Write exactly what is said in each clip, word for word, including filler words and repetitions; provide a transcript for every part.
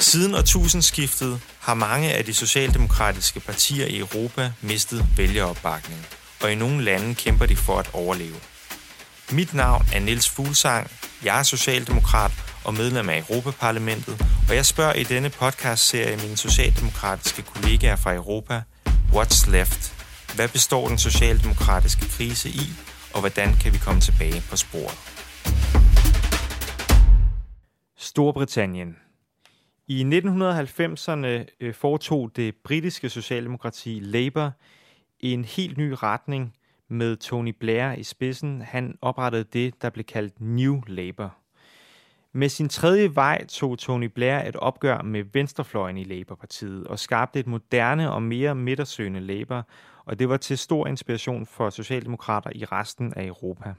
Siden årtusindskiftet har mange af de socialdemokratiske partier i Europa mistet vælgeropbakning, og i nogle lande kæmper de for at overleve. Mit navn er Niels Fuglsang, jeg er socialdemokrat og medlem af Europaparlamentet, og jeg spørger i denne podcastserie mine socialdemokratiske kollegaer fra Europa, What's left? Hvad består den socialdemokratiske krise i, og hvordan kan vi komme tilbage på sporet? Storbritannien. I nitten halvfemserne foretog det britiske socialdemokrati Labour en helt ny retning med Tony Blair i spidsen. Han oprettede det, der blev kaldt New Labour. Med sin tredje vej tog Tony Blair et opgør med venstrefløjen i Labour-partiet og skabte et moderne og mere midtersøgende Labour, og det var til stor inspiration for socialdemokrater i resten af Europa.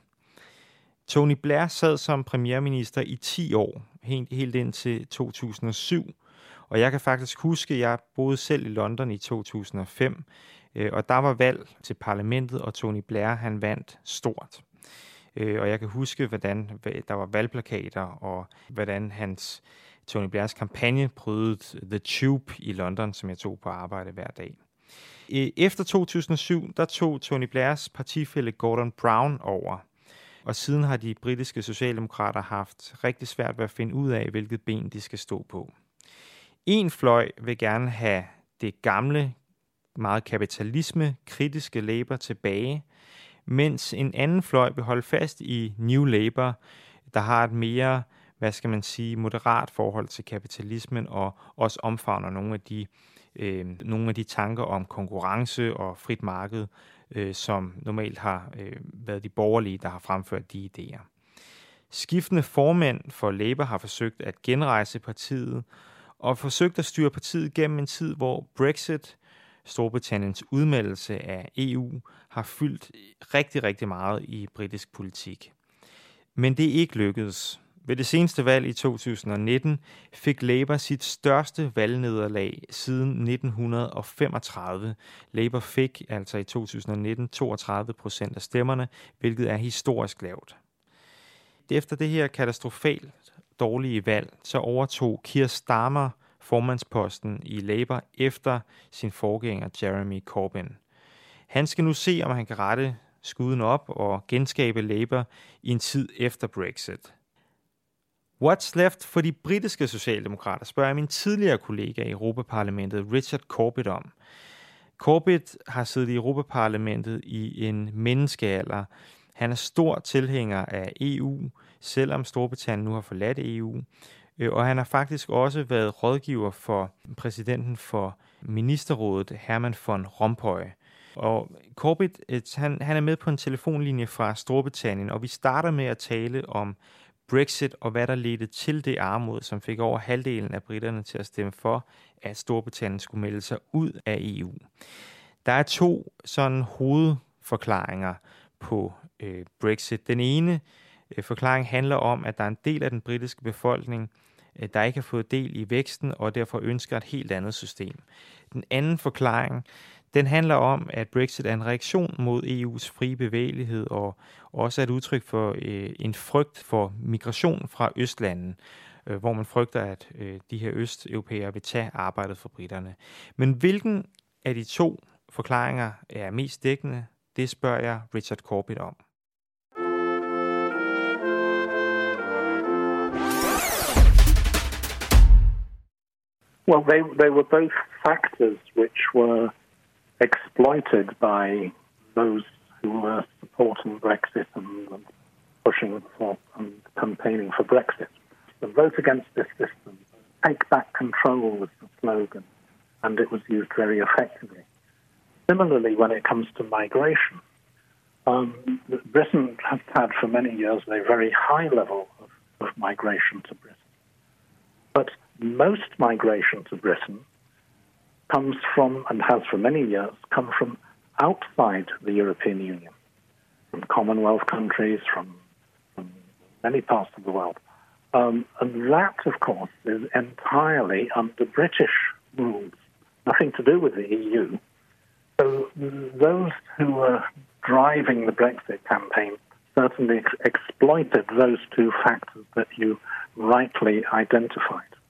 Tony Blair sad som premierminister i ti år, helt, helt indtil to tusind og syv, og jeg kan faktisk huske, at jeg boede selv i London i to tusind og fem, og der var valg til parlamentet, og Tony Blair han vandt stort. Og jeg kan huske, hvordan der var valgplakater, og hvordan hans Tony Blairs kampagne prøvede The Tube i London, som jeg tog på arbejde hver dag. Efter to tusind og syv, der tog Tony Blairs partifælle Gordon Brown over, og siden har de britiske socialdemokrater haft rigtig svært ved at finde ud af, hvilket ben de skal stå på. En fløj vil gerne have det gamle, meget kapitalisme-kritiske Labour tilbage, mens en anden fløj vil holde fast i New Labour, der har et mere, hvad skal man sige, moderat forhold til kapitalismen og også omfavner nogle af de, øh, nogle af de tanker om konkurrence og frit marked, øh, som normalt har øh, været de borgerlige, der har fremført de idéer. Skiftende formænd for Labour har forsøgt at genrejse partiet og forsøgt at styre partiet gennem en tid, hvor Brexit, Storbritanniens udmeldelse af E U, har fyldt rigtig, rigtig meget i britisk politik. Men det er ikke lykkedes. Ved det seneste valg i to tusind og nitten fik Labour sit største valgnederlag siden nitten femogtredive. Labour fik altså i to tusind og nitten toogtredive procent af stemmerne, hvilket er historisk lavt. Efter det her katastrofalt dårlige valg, så overtog Keir Starmer formandsposten i Labour efter sin forgænger Jeremy Corbyn. Han skal nu se, om han kan rette skuden op og genskabe Labour i en tid efter Brexit. What's left for de britiske socialdemokrater, spørger jeg min tidligere kollega i Europaparlamentet, Richard Corbett, om. Corbett har siddet i Europaparlamentet i en menneskealder. Han er stor tilhænger af E U, selvom Storbritannien nu har forladt E U. Og han har faktisk også været rådgiver for præsidenten for ministerrådet, Herman von Rompuy. Og Corbett, han, han er med på en telefonlinje fra Storbritannien, og vi starter med at tale om Brexit og hvad der ledte til det armod, som fik over halvdelen af briterne til at stemme for, at Storbritannien skulle melde sig ud af E U. Der er to sådan hovedforklaringer på øh, Brexit. Den ene øh, forklaring handler om, at der er en del af den britiske befolkning, øh, der ikke har fået del i væksten og derfor ønsker et helt andet system. Den anden forklaring, den handler om, at Brexit er en reaktion mod E U's frie bevægelighed og også er et udtryk for øh, en frygt for migration fra Østlanden, øh, hvor man frygter, at øh, de her østeuropæere vil tage arbejdet for briterne. Men hvilken af de to forklaringer er mest dækkende, det spørger jeg Richard Corbett om. Well, they they were both factors which were exploited by those who were supporting Brexit and pushing for and campaigning for Brexit. The vote against this system, take back control was the slogan, and it was used very effectively. Similarly, when it comes to migration, um, Britain has had for many years a very high level of, of migration to Britain. But most migration to Britain comes from, and has for many years, come from outside the European Union, from Commonwealth countries, from, from many parts of the world. Um, and that, of course, is entirely under British rules, nothing to do with the E U. So those who were driving the Brexit campaign certainly ex- exploited those two factors that you rightly identified.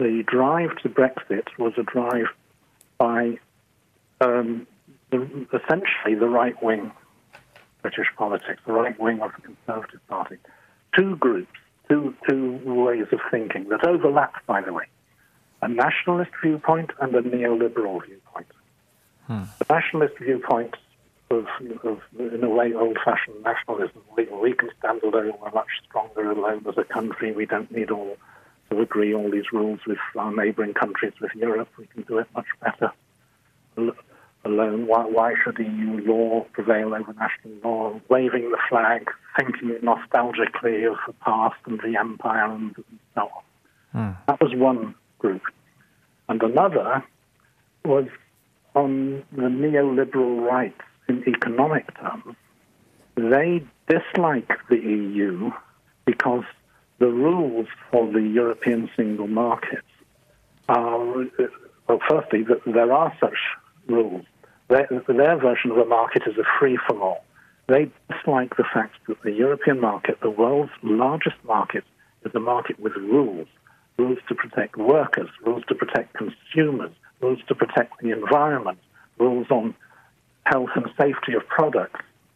the drive to Brexit was a drive by um, the, essentially the right-wing British politics, the right wing of the Conservative Party. Two groups, two, two ways of thinking that overlap, by the way. A nationalist viewpoint and a neoliberal viewpoint. Hmm. The nationalist viewpoint of, of, in a way, old-fashioned nationalism. We, we can stand alone, we're much stronger alone as a country. We don't need all to agree all these rules with our neighbouring countries, with Europe. We can do it much better alone. Why, why should E U law prevail over national law? Waving the flag, thinking nostalgically of the past and the empire and so on. Hmm. That was one group. And another was on the neoliberal right in economic terms. They dislike the E U because the rules for the European single market are, well, firstly, that there are such rules. Their, their version of a market is a free-for-all. They dislike the fact that the European market, the world's largest market, is a market with rules. Rules to protect workers, rules to protect consumers, rules to protect the environment, rules on health and safety of products.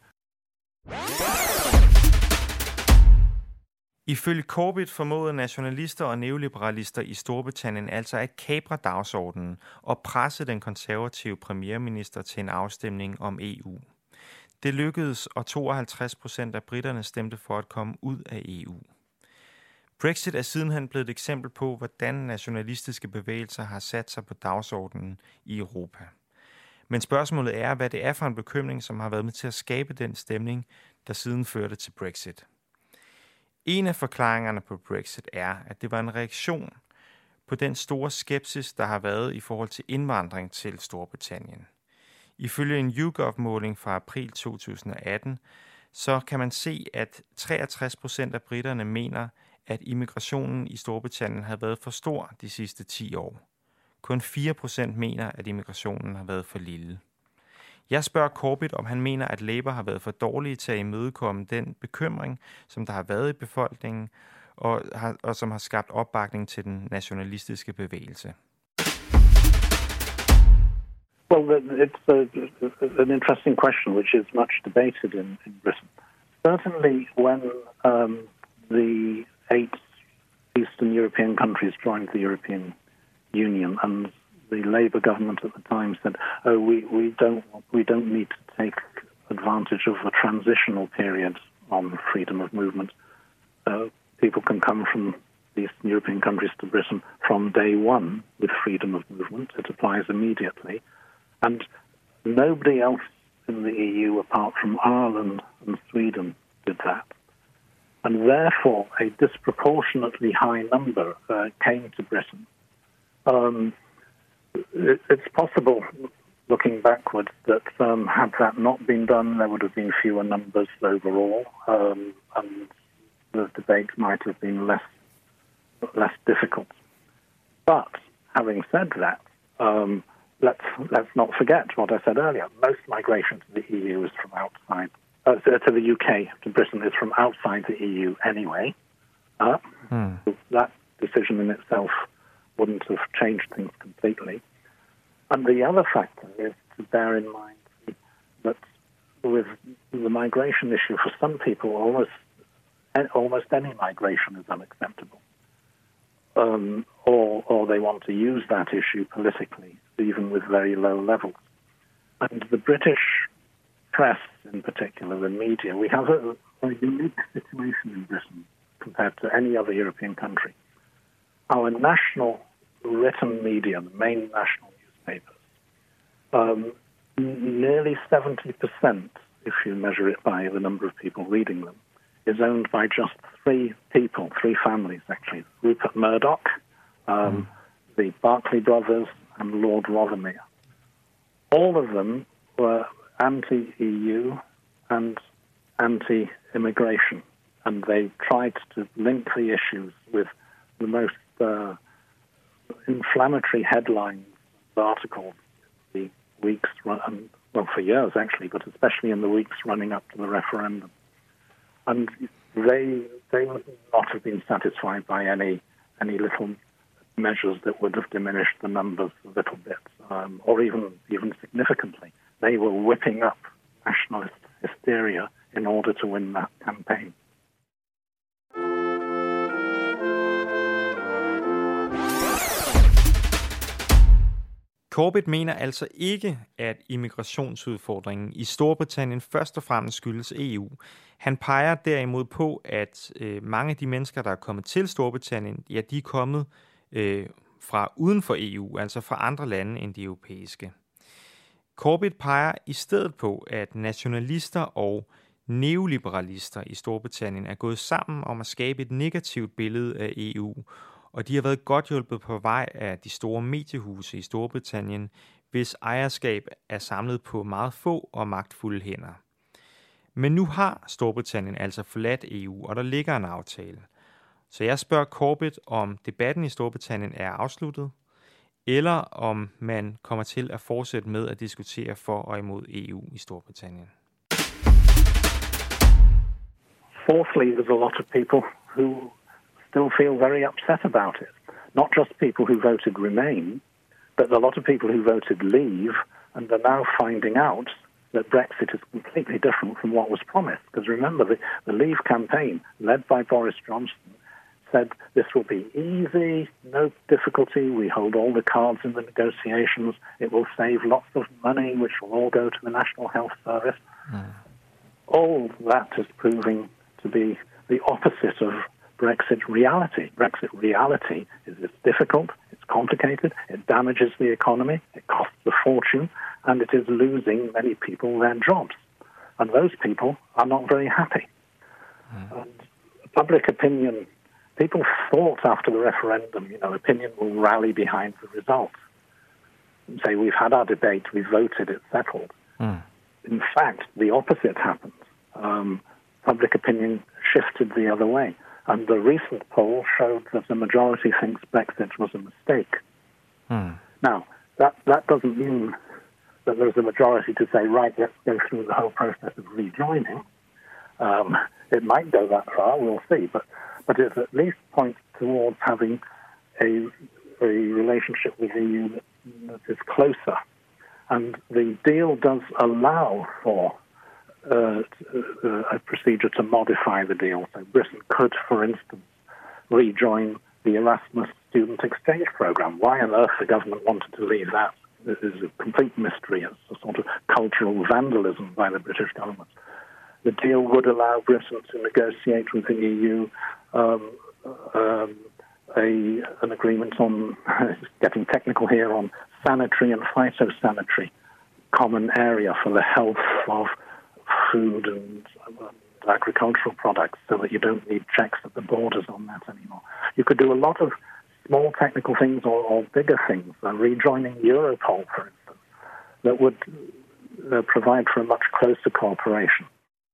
Ifølge Corbett formåede nationalister og neoliberalister i Storbritannien altså at kapre dagsordenen og presse den konservative premierminister til en afstemning om E U. Det lykkedes, og tooghalvtreds procent af briterne stemte for at komme ud af E U. Brexit er sidenhen blevet et eksempel på, hvordan nationalistiske bevægelser har sat sig på dagsordenen i Europa. Men spørgsmålet er, hvad det er for en bekymring, som har været med til at skabe den stemning, der siden førte til Brexit. En af forklaringerne på Brexit er, at det var en reaktion på den store skepsis, der har været i forhold til indvandring til Storbritannien. Ifølge en YouGov-måling fra april to tusind og atten, så kan man se, at treogtres procent af briterne mener, at immigrationen i Storbritannien har været for stor de sidste ti år. Kun fire procent mener, at immigrationen har været for lille. Jeg spørger Corbett, om han mener, at Labour har været for dårlige til at imødekomme den bekymring, som der har været i befolkningen, og, har, og som har skabt opbakning til den nationalistiske bevægelse. Well, it's a, an interesting question, which is much debated in, in Britain. Certainly, when um, the eight Eastern European countries joined the European Union, and the Labour government at the time said, "Oh, we, we don't we don't need to take advantage of a transitional period on freedom of movement. Uh, people can come from the Eastern European countries to Britain from day one with freedom of movement. It applies immediately." And nobody else in the E U, apart from Ireland and Sweden, did that. And therefore, a disproportionately high number uh, came to Britain. Um, it, it's possible, looking backwards, that um, had that not been done, there would have been fewer numbers overall, um, and the debate might have been less less difficult. But having said that, um, Let's let's not forget what I said earlier. Most migration to the E U is from outside, uh, to the U K, to Britain, is from outside the E U anyway. Uh, hmm. So that decision in itself wouldn't have changed things completely. And the other factor is to bear in mind that with the migration issue, for some people, almost almost any migration is unacceptable. Um, or, or they want to use that issue politically, even with very low levels. And the British press, in particular, the media, we have a, a unique situation in Britain compared to any other European country. Our national written media, the main national newspapers, um, n- nearly seventy percent, if you measure it by the number of people reading them, is owned by just three people, three families, actually. Rupert Murdoch, um, mm. the Berkeley brothers, and Lord Rothermere. All of them were anti-E U and anti-immigration, and they tried to link the issues with the most uh, inflammatory headlines, articles, the weeks, run, well, for years actually, but especially in the weeks running up to the referendum. And they they would not have been satisfied by any any little measures that would have diminished the numbers a little bit, um, or even even significantly. They were whipping up nationalist hysteria in order to win that campaign. Corbett mener altså ikke, at immigrationsudfordringen i Storbritannien først og fremmest skyldes E U. Han peger derimod på, at øh, mange af de mennesker, der er kommet til Storbritannien, ja, de er kommet øh, fra uden for E U, altså fra andre lande end de europæiske. Corbett peger i stedet på, at nationalister og neoliberalister i Storbritannien er gået sammen om at skabe et negativt billede af E U, og de har været godt hjulpet på vej af de store mediehuse i Storbritannien, hvis ejerskab er samlet på meget få og magtfulde hænder. Men nu har Storbritannien altså forladt E U, og der ligger en aftale. Så jeg spørger Corbett, om debatten i Storbritannien er afsluttet, eller om man kommer til at fortsætte med at diskutere for og imod E U i Storbritannien. Fourthly, there's a lot of people who still feel very upset about it. Not just people who voted Remain, but a lot of people who voted Leave and are now finding out that Brexit is completely different from what was promised. Because remember, the, the Leave campaign, led by Boris Johnson, said this will be easy, no difficulty, we hold all the cards in the negotiations, it will save lots of money, which will all go to the National Health Service. Mm. All that is proving to be the opposite of Brexit reality. Brexit reality is it's difficult, it's complicated, it damages the economy, it costs a fortune, and it is losing many people their jobs. And those people are not very happy. Mm. And public opinion, people thought after the referendum, you know, opinion will rally behind the result and say, we've had our debate, we've voted, it's settled. Mm. In fact, the opposite happened. Um, public opinion shifted the other way. And the recent poll showed that the majority thinks Brexit was a mistake. Hmm. Now, that, that doesn't mean that there's a majority to say, right, let's go through the whole process of rejoining. Um, it might go that far, we'll see. But, but it at least points towards having a, a relationship with the E U that, that is closer. And the deal does allow for Uh, uh, a procedure to modify the deal. So Britain could, for instance, rejoin the Erasmus student exchange program. Why on earth the government wanted to leave that is a complete mystery. It's a sort of cultural vandalism by the British government. The deal would allow Britain to negotiate with the E U um, um, a, an agreement on, getting technical here, on sanitary and phytosanitary common area for the health of food and agricultural products, so that you don't need checks at the borders on that anymore. You could do a lot of small technical things or, or bigger things, uh, rejoining Europol, for instance, that would uh, provide for a much closer cooperation.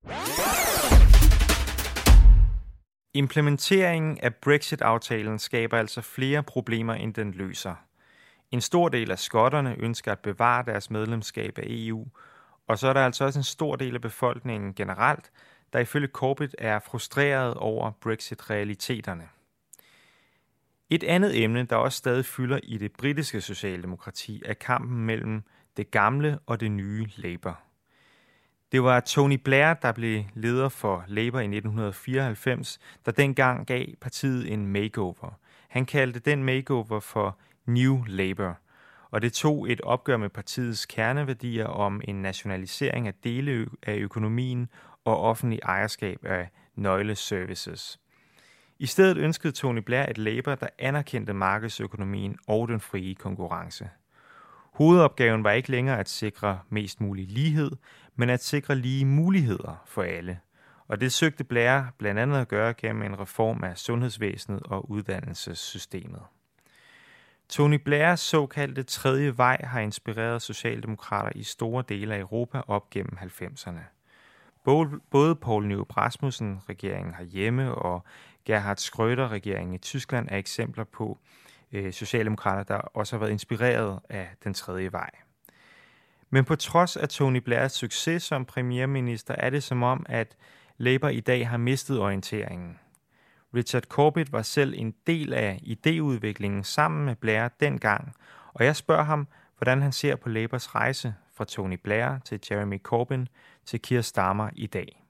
Implementeringen af Brexit-aftalen skaber altså flere problemer, end den løser. En stor del af skotterne ønsker at bevare deres medlemskab af E U, og så er der altså også en stor del af befolkningen generelt, der ifølge Corbett er frustreret over Brexit-realiteterne. Et andet emne, der også stadig fylder i det britiske socialdemokrati, er kampen mellem det gamle og det nye Labour. Det var Tony Blair, der blev leder for Labour i nitten fireoghalvfems, der dengang gav partiet en makeover. Han kaldte den makeover for New Labour, og det tog et opgør med partiets kerneværdier om en nationalisering af dele af økonomien og offentlig ejerskab af nøgleservices. I stedet ønskede Tony Blair et Labour, der anerkendte markedsøkonomien og den frie konkurrence. Hovedopgaven var ikke længere at sikre mest mulig lighed, men at sikre lige muligheder for alle. Og det søgte Blair blandt andet at gøre gennem en reform af sundhedsvæsenet og uddannelsessystemet. Tony Blairs såkaldte tredje vej har inspireret socialdemokrater i store dele af Europa op gennem halvfemserne. Både Poul Nyrup Rasmussen, regeringen herhjemme, og Gerhard Schröder, regeringen i Tyskland, er eksempler på øh, socialdemokrater, der også har været inspireret af den tredje vej. Men på trods af Tony Blairs succes som premierminister, er det som om, at Labour i dag har mistet orienteringen. Richard Corbett var selv en del af idéudviklingen sammen med Blair dengang, og jeg spørger ham, hvordan han ser på Labours rejse fra Tony Blair til Jeremy Corbyn til Keir Starmer i dag.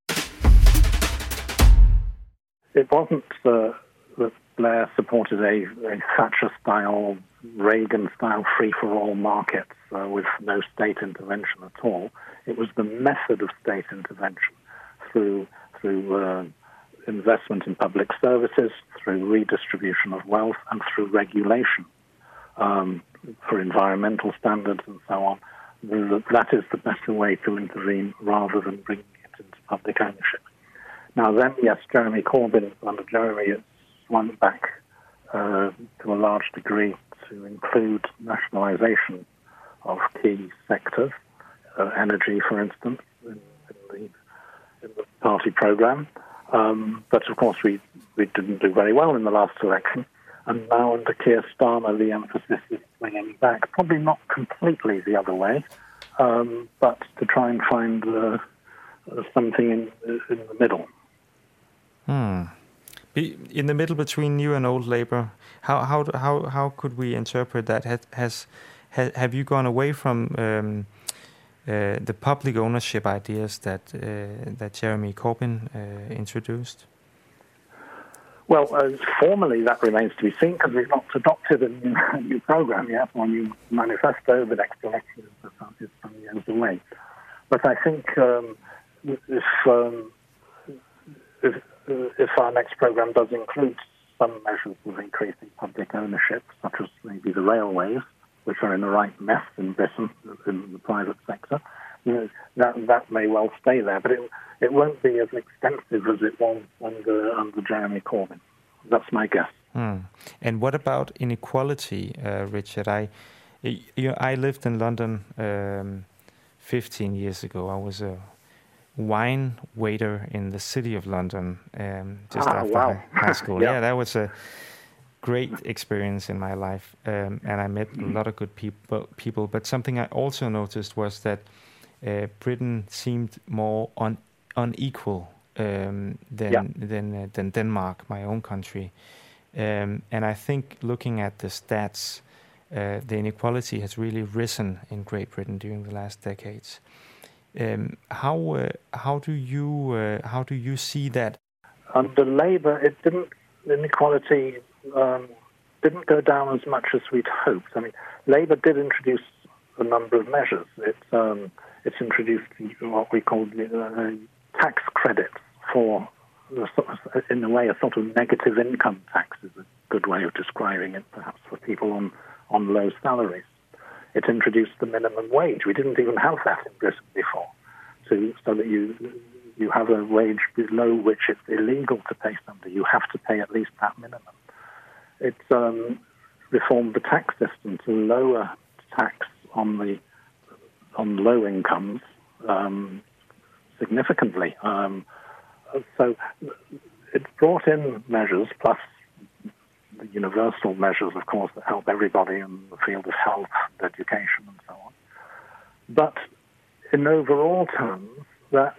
It wasn't uh, that Blair supported a, a Thatcher-style, Reagan-style free-for-all market uh, with no state intervention at all. It was the method of state intervention through through uh, investment in public services, through redistribution of wealth, and through regulation um, for environmental standards and so on. That is the better way to intervene rather than bringing it into public ownership. Now then, yes, Jeremy Corbyn, under Jeremy, has swung back uh, to a large degree to include nationalisation of key sectors, uh, energy, for instance, in, in, the, in the party programme. Um, but of course, we, we didn't do very well in the last election. And now under Keir Starmer, the emphasis is swinging back, probably not completely the other way, um, but to try and find uh, something in, in the middle. Hmm. In the middle between new and old Labour, how how how how could we interpret that? Has, has, has have you gone away from um, uh, the public ownership ideas that uh, that Jeremy Corbyn uh, introduced? Well, uh, formally that remains to be seen because we've not adopted a new, a new programme yet or a new manifesto. The next election is some years away. But I think um, if um, if if our next programme does include some measures of increasing public ownership, such as maybe the railways, which are in the right mess in Britain, in the private sector, you know, that that may well stay there. But it it won't be as extensive as it was under under Jeremy Corbyn. That's my guess. Hmm. And what about inequality, uh, Richard? I you know, I lived in London um, fifteen years ago. I was a wine waiter in the city of London um, just ah, after wow. high school. yeah. yeah, that was a great experience in my life, um, and I met a lot of good people. People, but something I also noticed was that uh, Britain seemed more un- unequal um, than yeah. than uh, than Denmark, my own country. Um, and I think looking at the stats, uh, the inequality has really risen in Great Britain during the last decades. Um, how uh, how do you uh, how do you see that? Under Labour, it didn't inequality um, didn't go down as much as we'd hoped. I mean, Labour did introduce a number of measures. It's um, it's introduced what we call uh, tax credits for, in a way, a sort of negative income tax is a good way of describing it, perhaps, for people on on low salaries. It introduced the minimum wage. We didn't even have that in Britain before, so, so that you you have a wage below which it's illegal to pay somebody. You have to pay at least that minimum. It um, reformed the tax system to lower tax on the on low incomes um, significantly. Um, so it brought in measures, plus the universal measures, of course, that help everybody in the field of health, education, and so on. But in overall terms, that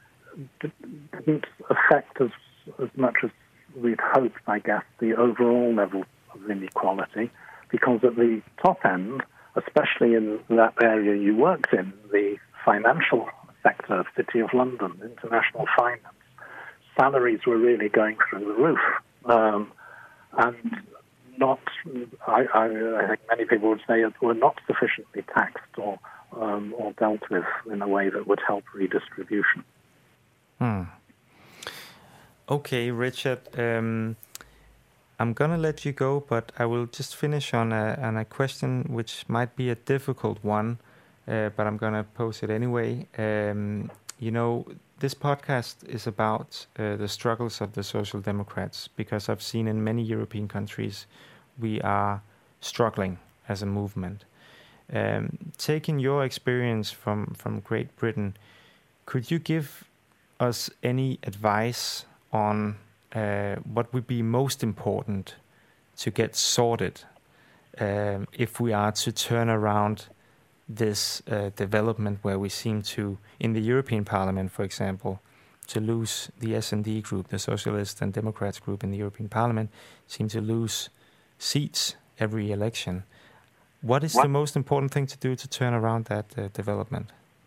didn't affect as, as much as we'd hoped, I guess, the overall level of inequality, because at the top end, especially in that area you worked in, the financial sector, City of London, international finance, salaries were really going through the roof. Um, and not, I, I, I think many people would say, were not sufficiently taxed or um, or dealt with in a way that would help redistribution. Hmm. Okay, Richard, um, I'm going to let you go, but I will just finish on a, on a question which might be a difficult one, uh, but I'm going to pose it anyway. Um, you know, this podcast is about uh, the struggles of the Social Democrats, because I've seen in many European countries we are struggling as a movement. Um, taking your experience from, from Great Britain, could you give us any advice on uh, what would be most important to get sorted um, if we are to turn around this uh, development where we seem to, in the European Parliament, for example, to lose the S and D group, the Socialist and Democrats group in the European Parliament, seem to lose seats every election. What is what? the most important thing to do to turn around that uh, development?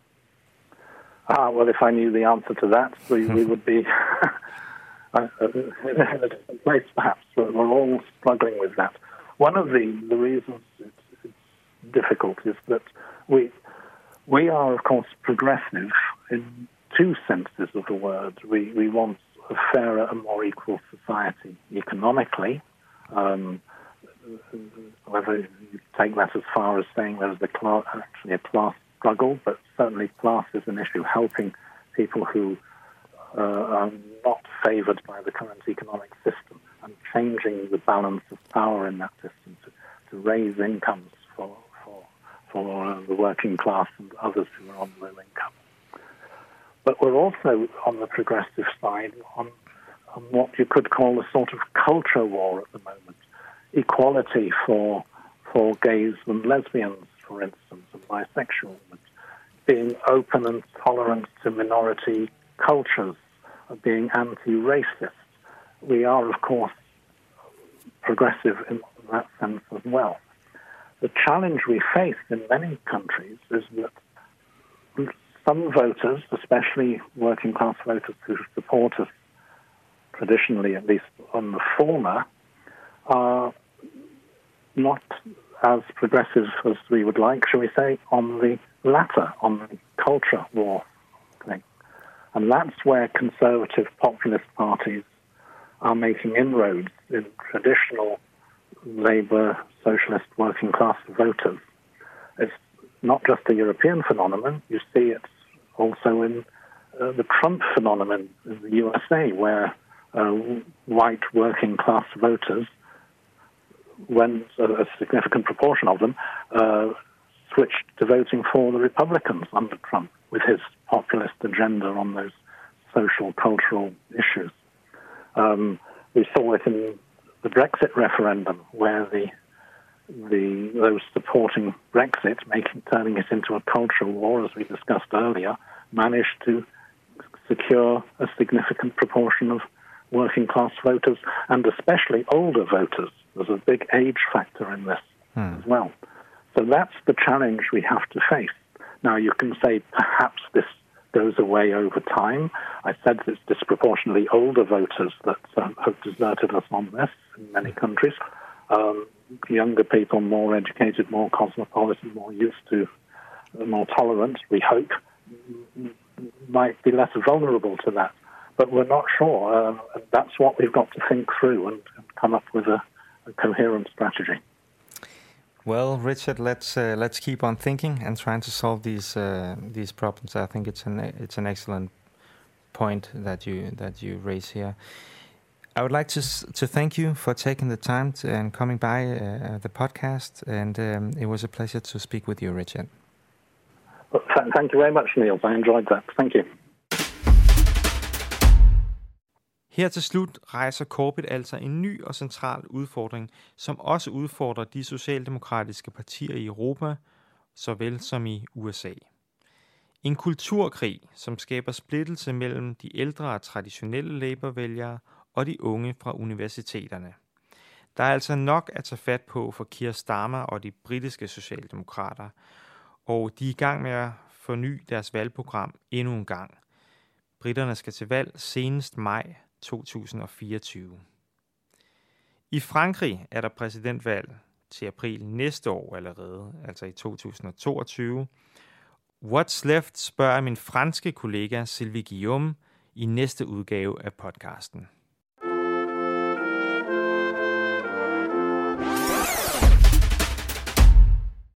Ah, well, if I knew the answer to that, we, we would be in a different place, perhaps. We're all struggling with that. One of the, the reasons it's, it's difficult is that we we are, of course, progressive in two senses of the word. We, we want a fairer and more equal society economically, um, whether you take that as far as saying there's a class, actually a class struggle, but certainly class is an issue, helping people who uh, are not favoured by the current economic system and changing the balance of power in that system to, to raise incomes for, for, for uh, the working class and others who are on low income. But we're also on the progressive side on, on what you could call a sort of culture war at the moment. Equality for for gays and lesbians, for instance, and bisexuals, being open and tolerant to minority cultures, being anti-racist. We are, of course, progressive in that sense as well. The challenge we face in many countries is that some voters, especially working class voters who support us traditionally, at least on the former, are not as progressive as we would like, shall we say, on the latter, on the culture war thing. And that's where conservative populist parties are making inroads in traditional Labour, socialist, working class voters. It's not just a European phenomenon. You see it also in uh, the Trump phenomenon in the U S A, where uh, white working class voters, when a significant proportion of them uh, switched to voting for the Republicans under Trump with his populist agenda on those social, cultural issues. Um, we saw it in the Brexit referendum, where the the those supporting Brexit, making turning it into a cultural war, as we discussed earlier, managed to secure a significant proportion of working class voters, and especially older voters. There's a big age factor in this hmm. as well. So that's the challenge we have to face. Now, you can say perhaps this goes away over time. I said it's disproportionately older voters that um, have deserted us on this in many countries. Um, younger people, more educated, more cosmopolitan, more used to, uh, more tolerant, we hope, might be less vulnerable to that. But we're not sure. Uh, and that's what we've got to think through and, and come up with a, a coherent strategy. Well, Richard, let's uh, let's keep on thinking and trying to solve these uh, these problems. I think it's an it's an excellent point that you that you raise here. I would like to to thank you for taking the time to, and coming by uh, the podcast, and um, it was a pleasure to speak with you, Richard. Well, th- thank you very much, Niels. I enjoyed that. Thank you. Her til slut rejser Corbett altså en ny og central udfordring, som også udfordrer de socialdemokratiske partier i Europa, såvel som i U S A. En kulturkrig, som skaber splittelse mellem de ældre og traditionelle Labour-vælgere og de unge fra universiteterne. Der er altså nok at tage fat på for Keir Starmer og de britiske socialdemokrater, og de er i gang med at forny deres valgprogram endnu en gang. Briterne skal til valg senest maj to tusind og fireogtyve. I Frankrig er der præsidentvalg til april næste år allerede, altså i to tusind og toogtyve. What's Left spørger min franske kollega Sylvie Guillaume i næste udgave af podcasten.